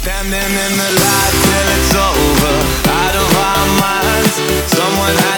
Standing in the light till it's over, out of our minds. Someone had